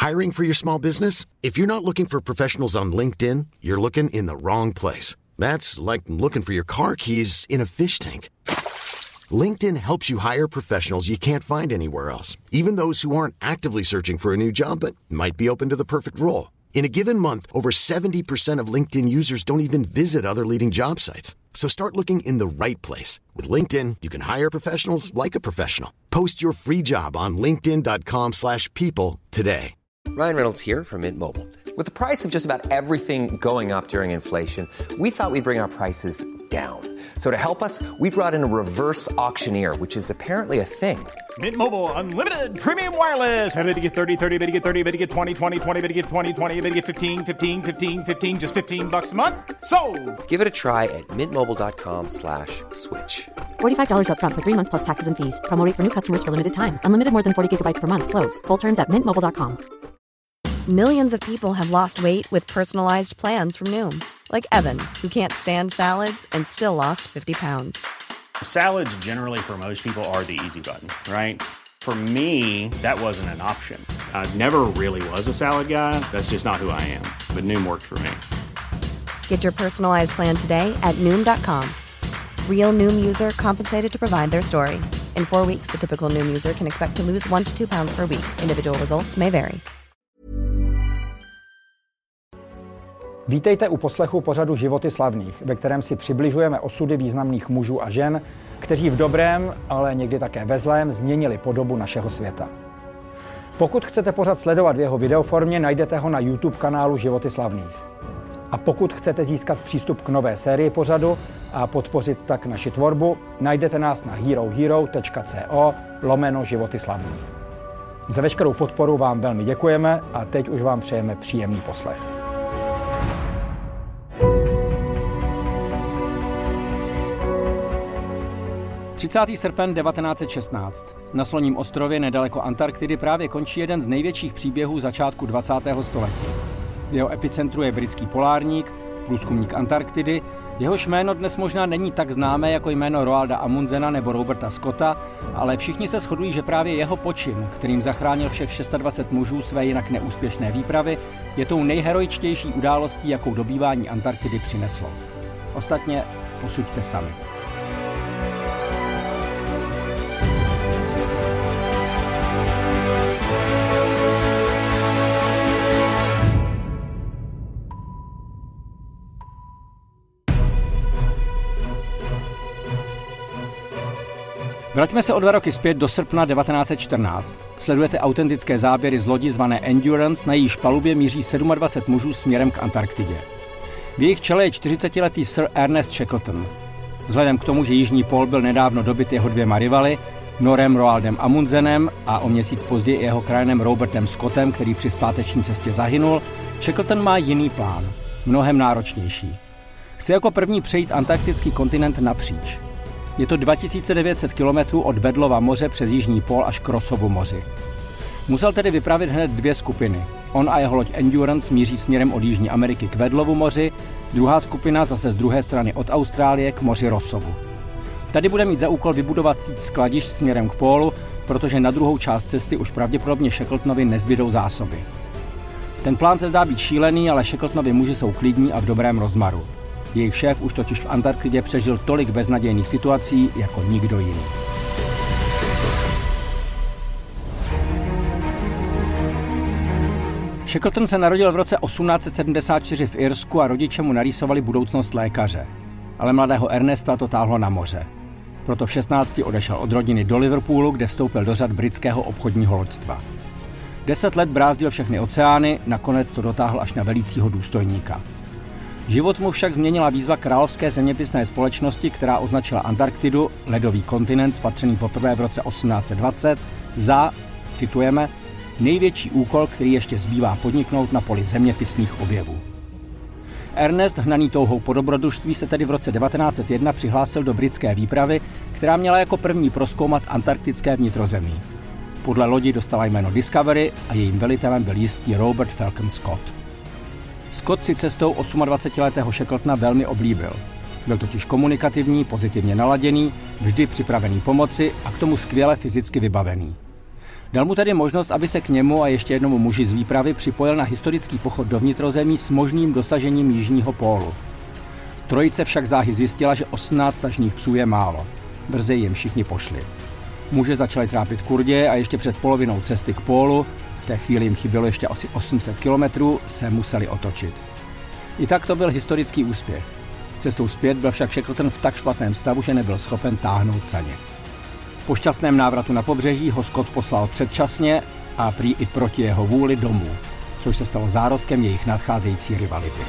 Hiring for your small business? If you're not looking for professionals on LinkedIn, you're looking in the wrong place. That's like looking for your car keys in a fish tank. LinkedIn helps you hire professionals you can't find anywhere else, even those who aren't actively searching for a new job but might be open to the perfect role. In a given month, over 70% of LinkedIn users don't even visit other leading job sites. So start looking in the right place. With LinkedIn, you can hire professionals like a professional. Post your free job on linkedin.com/people today. Ryan Reynolds here from Mint Mobile. With the price of just about everything going up during inflation, we thought we'd bring our prices down. So to help us, we brought in a reverse auctioneer, which is apparently a thing. Mint Mobile Unlimited Premium Wireless. How to get 30, 30, how to get 30, how to get 20, 20, 20, how to get 20, 20, how to get 15, 15, 15, 15, just $15 a month? Sold! Give it a try at mintmobile.com/switch. $45 up front for 3 months plus taxes and fees. Promo rate for new customers for limited time. Unlimited more than 40 gigabytes per month. Slows full terms at mintmobile.com. Millions of people have lost weight with personalized plans from Noom. Like Evan, who can't stand salads and still lost 50 pounds. Salads generally for most people are the easy button, right? For me, that wasn't an option. I never really was a salad guy. That's just not who I am. But Noom worked for me. Get your personalized plan today at Noom.com. Real Noom user compensated to provide their story. In 4 weeks, the typical Noom user can expect to lose 1 to 2 pounds per week. Individual results may vary. Vítejte u poslechu pořadu Životy slavných, ve kterém si přibližujeme osudy významných mužů a žen, kteří v dobrém, ale někdy také ve zlém změnili podobu našeho světa. Pokud chcete pořad sledovat v jeho videoformě, najdete ho na YouTube kanálu Životy slavných. A pokud chcete získat přístup k nové sérii pořadu a podpořit tak naši tvorbu, najdete nás na herohero.co/Životy slavných. Za veškerou podporu vám velmi děkujeme a teď už vám přejeme příjemný poslech. Srpen 1916. Na Sloním ostrově nedaleko Antarktidy právě končí jeden z největších příběhů začátku 20. století. V jeho epicentru je britský polárník, průzkumník Antarktidy, jehož jméno dnes možná není tak známé jako jméno Roalda Amundsena nebo Roberta Scotta, ale všichni se shodují, že právě jeho počin, kterým zachránil všech 26 mužů své jinak neúspěšné výpravy, je tou nejheroičtější událostí, jakou dobývání Antarktidy přineslo. Ostatně posuďte sami. Vraťme se o 2 roky zpět do srpna 1914. Sledujete autentické záběry z lodi zvané Endurance, na jejíž palubě míří 27 mužů směrem k Antarktidě. V jejich čele je 40letý Sir Ernest Shackleton. Vzhledem k tomu, že Jižní pól byl nedávno dobyt jeho 2 rivaly, Norem Roaldem Amundsenem a o měsíc později jeho krajanem Robertem Scottem, který při zpáteční cestě zahynul, Shackleton má jiný plán, mnohem náročnější. Chce jako první přejít antarktický kontinent napříč. Je to 2900 kilometrů od Weddellova moře přes Jižní pól až k Rossovu moři. Musel tedy vypravit hned 2 skupiny. On a jeho loď Endurance míří směrem od Jižní Ameriky k Weddellovu moři, druhá skupina zase z druhé strany od Austrálie k moři Rossovu. Tady bude mít za úkol vybudovat síť skladišť směrem k pólu, protože na druhou část cesty už pravděpodobně Shackletonovi nezbydou zásoby. Ten plán se zdá být šílený, ale Shackletonovi muži jsou klidní a v dobrém rozmaru. Jejich šéf už totiž v Antarktidě přežil tolik beznadějných situací jako nikdo jiný. Shackleton se narodil v roce 1874 v Irsku a rodiče mu narýsovali budoucnost lékaře. Ale mladého Ernesta to táhlo na moře. Proto v 16 odešel od rodiny do Liverpoolu, kde vstoupil do řad britského obchodního loďstva. 10 let brázdil všechny oceány, nakonec to dotáhl až na velícího důstojníka. Život mu však změnila výzva Královské zeměpisné společnosti, která označila Antarktidu, ledový kontinent spatřený poprvé v roce 1820, za, citujeme, největší úkol, který ještě zbývá podniknout na poli zeměpisných objevů. Ernest, hnaný touhou po dobrodružství, se tedy v roce 1901 přihlásil do britské výpravy, která měla jako první prozkoumat antarktické vnitrozemí. Podle lodi dostala jméno Discovery a jejím velitelem byl jistý Robert Falcon Scott. Scott si cestou 28letého Shackletona velmi oblíbil. Byl totiž komunikativní, pozitivně naladěný, vždy připravený pomoci a k tomu skvěle fyzicky vybavený. Dal mu tedy možnost, aby se k němu a ještě jednomu muži z výpravy připojil na historický pochod do vnitrozemí s možným dosažením jižního pólu. Trojice však záhy zjistila, že 18 tažných psů je málo. Brzy jim všichni pošli. Muže začali trápit kurdě a ještě před polovinou cesty k pólu, v té chvíli jim chybělo ještě asi 800 kilometrů, se museli otočit. I tak to byl historický úspěch. Cestou zpět byl však Shackleton v tak špatném stavu, že nebyl schopen táhnout saně. Po šťastném návratu na pobřeží ho Scott poslal předčasně a prý i proti jeho vůli domů, což se stalo zárodkem jejich nadcházející rivality.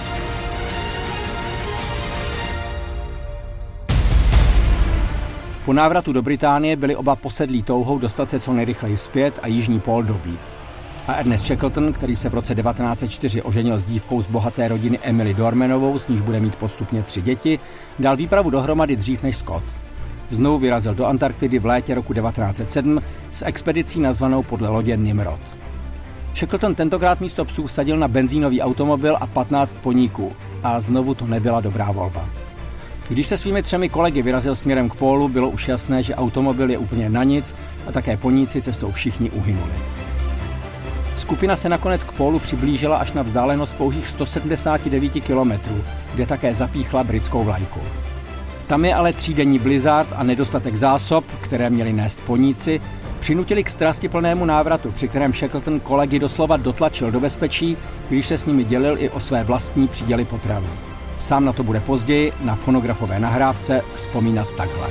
Po návratu do Británie byli oba posedlí touhou dostat se co nejrychleji zpět a jižní pól dobít. A Ernest Shackleton, který se v roce 1904 oženil s dívkou z bohaté rodiny Emily Dormanovou, s níž bude mít postupně 3 děti, dal výpravu dohromady dřív než Scott. Znovu vyrazil do Antarktidy v létě roku 1907 s expedicí nazvanou podle lodě Nimrod. Shackleton tentokrát místo psů vsadil na benzínový automobil a 15 poníků a znovu to nebyla dobrá volba. Když se svými 3 kolegy vyrazil směrem k pólu, bylo už jasné, že automobil je úplně na nic a také poníci cestou všichni uhynuli. Skupina se nakonec k pólu přiblížila až na vzdálenost pouhých 179 kilometrů, kde také zapíchla britskou vlajku. Tam je ale 3denní blizzard a nedostatek zásob, které měli nést poníci, přinutili k strastiplnému návratu, při kterém Shackleton kolegy doslova dotlačil do bezpečí, když se s nimi dělil i o své vlastní příděly potravy. Sám na to bude později na fonografové nahrávce vzpomínat takhle.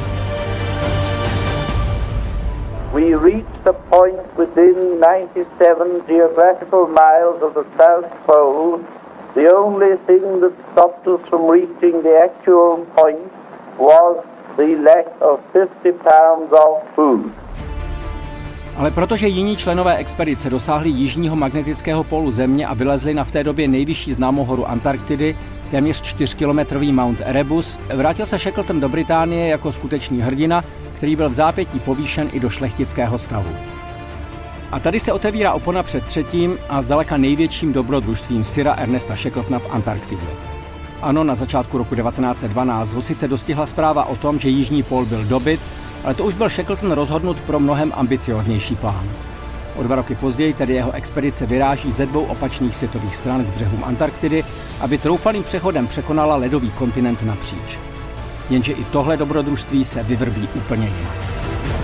We reached a point within 97 geographical miles of the South Pole. The only thing that stopped us from reaching the actual point was the lack of 50 pounds of food. Ale protože jiní členové expedice dosáhli jižního magnetického pólu Země a vylezli na v té době nejvyšší známou horu Antarktidy, téměř 4kilometrový Mount Erebus, vrátil se Shackleton do Británie jako skutečný hrdina, který byl v zápětí povýšen i do šlechtického stavu. A tady se otevírá opona před třetím a zdaleka největším dobrodružstvím Sira Ernesta Shackletona v Antarktidě. Ano, na začátku roku 1912 ho sice dostihla zpráva o tom, že jižní pól byl dobyt, ale to už byl Shackleton rozhodnut pro mnohem ambicioznější plán. O 2 roky později tedy jeho expedice vyráží ze 2 opačných světových stran k břehům Antarktidy, aby troufalým přechodem překonala ledový kontinent napříč. Jenže i tohle dobrodružství se vyvrbí úplně jinak.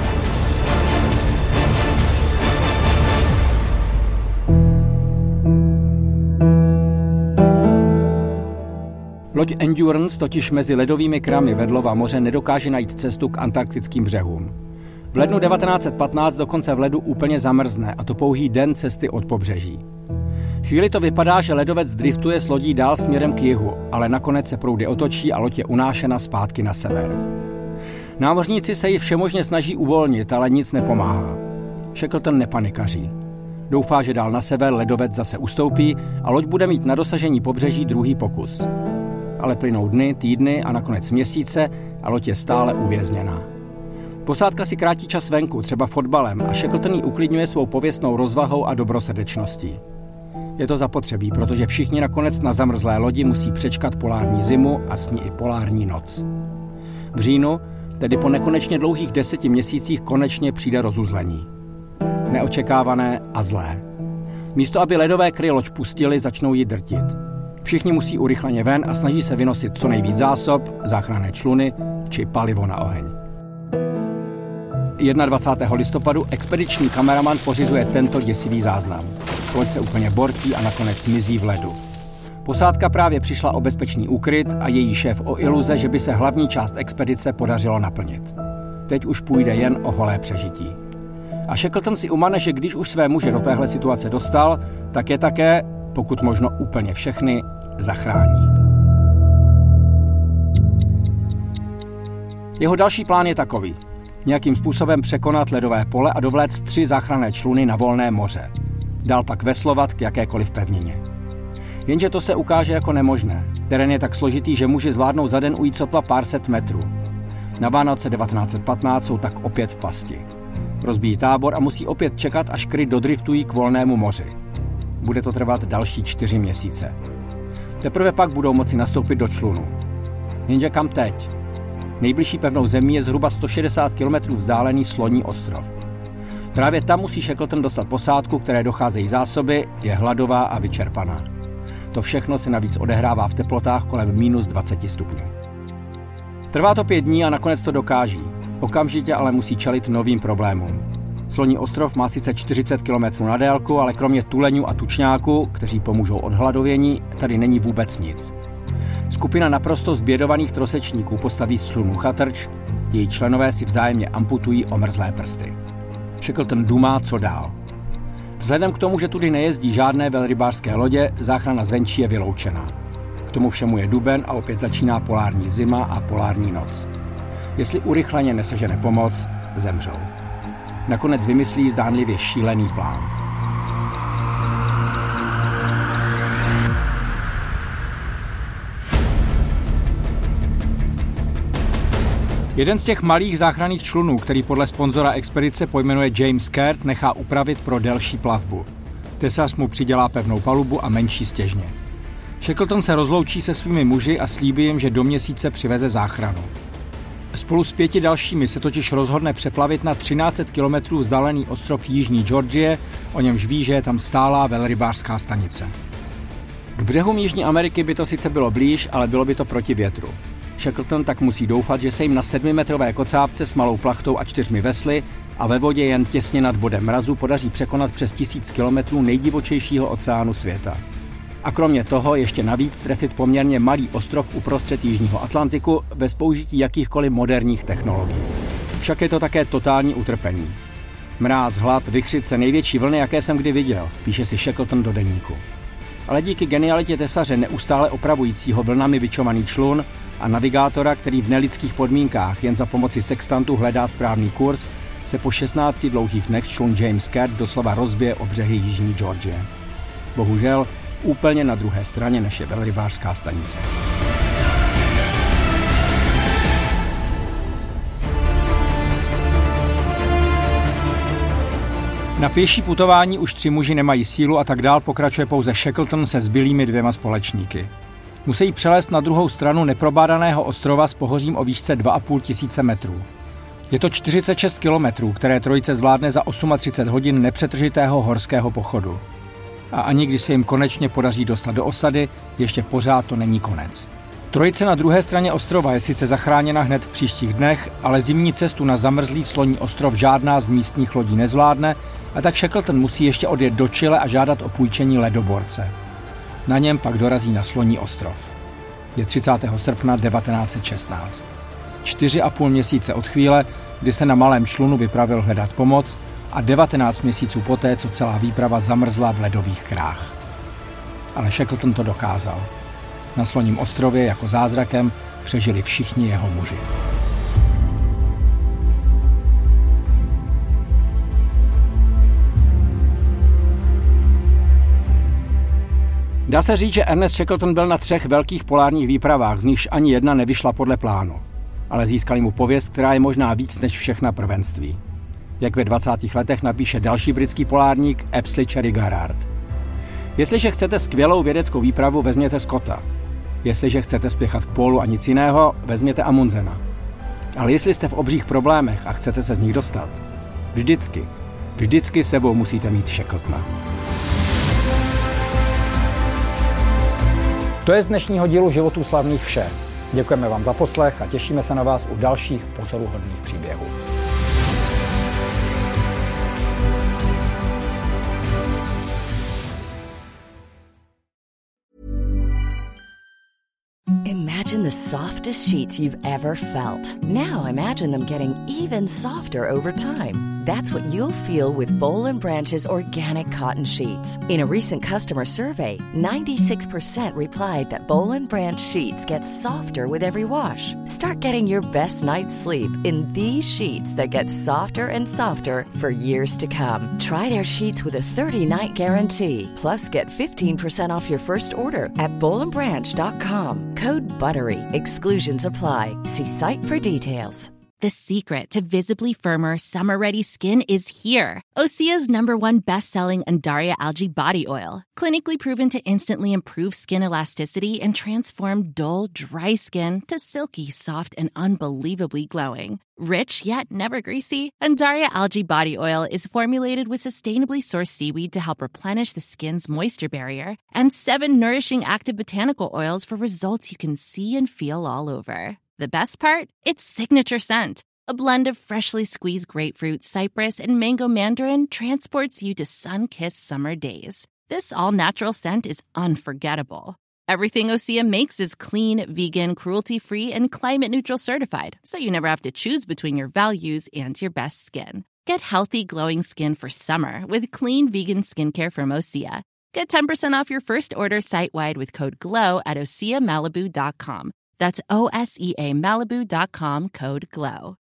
Loď Endurance totiž mezi ledovými kramy Vedlova moře nedokáže najít cestu k antarktickým břehům. V lednu 1915 dokonce v ledu úplně zamrzne, a to pouhý den cesty od pobřeží. Chvíli to vypadá, že ledovec driftuje s lodí dál směrem k jihu, ale nakonec se proudy otočí a loď je unášena zpátky na sever. Námořníci se ji všemožně snaží uvolnit, ale nic nepomáhá. Shackleton nepanikaří. Doufá, že dál na sever ledovec zase ustoupí a loď bude mít na dosažení pobřeží druhý pokus. Ale plynou dny, týdny a nakonec měsíce a loď je stále uvězněná. Posádka si krátí čas venku, třeba fotbalem, a Shackleton ji uklidňuje svou pověstnou rozvahou a dobrosrdečností. Je to zapotřebí, protože všichni nakonec na zamrzlé lodi musí přečkat polární zimu a s ní i polární noc. V říjnu, tedy po nekonečně dlouhých 10 měsících, konečně přijde rozuzlení. Neočekávané a zlé. Místo, aby ledové kry loď pustili, začnou ji drtit. Všichni musí urychleně ven a snaží se vynosit co nejvíc zásob, záchranné čluny či palivo na oheň. 21. listopadu expediční kameraman pořizuje tento děsivý záznam. Loď se úplně bortí a nakonec mizí v ledu. Posádka právě přišla o bezpečný úkryt a její šéf o iluze, že by se hlavní část expedice podařilo naplnit. Teď už půjde jen o holé přežití. A Shackleton si umane, že když už své muže do téhle situace dostal, tak je také, pokud možno úplně všechny, zachrání. Jeho další plán je takový. Nějakým způsobem překonat ledové pole a dovléct 3 záchranné čluny na volné moře. Dál pak veslovat k jakékoliv pevnině. Jenže to se ukáže jako nemožné. Terén je tak složitý, že muži zvládnou za den ujít sotva pár set metrů. Na Vánoce 1915 jsou tak opět v pasti. Rozbíjí tábor a musí opět čekat, až kry dodriftují k volnému moři. Bude to trvat další 4 měsíce. Teprve pak budou moci nastoupit do člunu. Jenže kam teď? Nejbližší pevnou zemí je zhruba 160 km vzdálený Sloní ostrov. Právě tam musí Shackleton dostat posádku, které docházejí zásoby, je hladová a vyčerpaná. To všechno se navíc odehrává v teplotách kolem minus 20 stupňů. Trvá to 5 dní a nakonec to dokáží. Okamžitě ale musí čelit novým problémům. Sloní ostrov má sice 40 km na délku, ale kromě tuleňů a tučňáků, kteří pomůžou od hladovění, tady není vůbec nic. Skupina naprosto zbědovaných trosečníků postaví z člunu chatrč, její členové si vzájemně amputují omrzlé prsty. Shackleton dumá, co dál. Vzhledem k tomu, že tudy nejezdí žádné velrybářské lodě, záchrana zvenčí je vyloučená. K tomu všemu je duben a opět začíná polární zima a polární noc. Jestli urychleně nesežene pomoc, zemřou. Nakonec vymyslí zdánlivě šílený plán. Jeden z těch malých záchranných člunů, který podle sponzora expedice pojmenuje James Caird, nechá upravit pro delší plavbu. Tesař mu přidělá pevnou palubu a menší stěžně. Shackleton se rozloučí se svými muži a slíbí jim, že do měsíce přiveze záchranu. Spolu s 5 dalšími se totiž rozhodne přeplavit na 1300 km vzdálený ostrov Jižní Georgie, o němž ví, že je tam stálá velrybářská stanice. K břehům Jižní Ameriky by to sice bylo blíž, ale bylo by to proti větru. Shackleton tak musí doufat, že se jim na 7metrové kocápce s malou plachtou a 4 vesly a ve vodě jen těsně nad bodem mrazu podaří překonat přes 1000 km nejdivočejšího oceánu světa. A kromě toho ještě navíc trefit poměrně malý ostrov uprostřed Jižního Atlantiku bez použití jakýchkoliv moderních technologií. Však je to také totální utrpení. Mráz, hlad, vichřice, největší vlny, jaké jsem kdy viděl, píše si Shackleton do deníku. Ale díky genialitě tesaře neustále opravujícího vlnami bičovaný člun a navigátora, který v nelidských podmínkách jen za pomoci sextantu hledá správný kurz, se po 16 dlouhých dnech člun James Caird doslova rozbije o břehy Jižní Georgie. Bohužel úplně na druhé straně než je velrybářská stanice. Na pěší putování už 3 muži nemají sílu a tak dál pokračuje pouze Shackleton se zbylými 2 společníky. Musí přelézt na druhou stranu neprobádaného ostrova s pohořím o výšce 2500 metrů. Je to 46 kilometrů, které trojice zvládne za 38 hodin nepřetržitého horského pochodu. A ani když se jim konečně podaří dostat do osady, ještě pořád to není konec. Trojice na druhé straně ostrova je sice zachráněna hned v příštích dnech, ale zimní cestu na zamrzlý sloní ostrov žádná z místních lodí nezvládne a tak Shackleton musí ještě odjet do Chile a žádat o půjčení ledoborce. Na něm pak dorazí na sloní ostrov. Je 30. srpna 1916. 4,5 měsíce od chvíle, kdy se na malém člunu vypravil hledat pomoc a 19 měsíců poté, co celá výprava zamrzla v ledových krách. Ale Shackleton to dokázal. Na sloním ostrově jako zázrakem přežili všichni jeho muži. Dá se říct, že Ernest Shackleton byl na 3 velkých polárních výpravách, z nichž ani jedna nevyšla podle plánu. Ale získali mu pověst, která je možná víc než všechna prvenství. Jak ve 20. letech napíše další britský polárník Apsley Cherry Garrard. Jestliže chcete skvělou vědeckou výpravu, vezměte Scotta. Jestliže chcete spěchat k pólu a nic jiného, vezměte Amundsena. Ale jestli jste v obřích problémech a chcete se z nich dostat, vždycky sebou musíte mít Shackletona. To je z dnešního dílu Životů slavných vše. Děkujeme vám za poslech a těšíme se na vás u dalších pozoruhodných příběhů. Imagine the softest sheets you've ever felt. Now imagine them getting even softer over time. That's what you'll feel with Boll & Branch's organic cotton sheets. In a recent customer survey, 96% replied that Boll & Branch sheets get softer with every wash. Start getting your best night's sleep in these sheets that get softer and softer for years to come. Try their sheets with a 30-night guarantee. Plus, get 15% off your first order at bollandbranch.com. Code BUTTERY. Exclusions apply. See site for details. The secret to visibly firmer, summer-ready skin is here. Osea's #1 best-selling Undaria Algae Body Oil. Clinically proven to instantly improve skin elasticity and transform dull, dry skin to silky, soft, and unbelievably glowing. Rich yet never greasy, Undaria Algae Body Oil is formulated with sustainably sourced seaweed to help replenish the skin's moisture barrier and 7 nourishing active botanical oils for results you can see and feel all over. The best part? Its signature scent. A blend of freshly squeezed grapefruit, cypress, and mango mandarin transports you to sun-kissed summer days. This all-natural scent is unforgettable. Everything Osea makes is clean, vegan, cruelty-free, and climate-neutral certified, so you never have to choose between your values and your best skin. Get healthy, glowing skin for summer with clean, vegan skincare from Osea. Get 10% off your first order site-wide with code GLOW at OseaMalibu.com. That's OSEAMalibu.com, code GLOW.